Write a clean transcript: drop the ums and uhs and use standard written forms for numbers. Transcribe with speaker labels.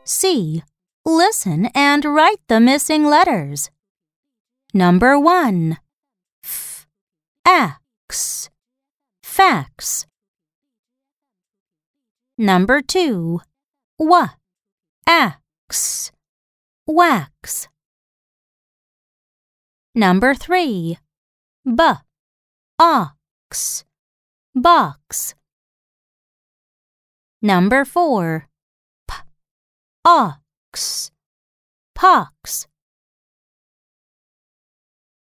Speaker 1: C. Listen and write the missing letters. Number 1. X. Fax. Number 2. X. Wax. Number 3. Ox. Box. Number 4. Ox. Pox.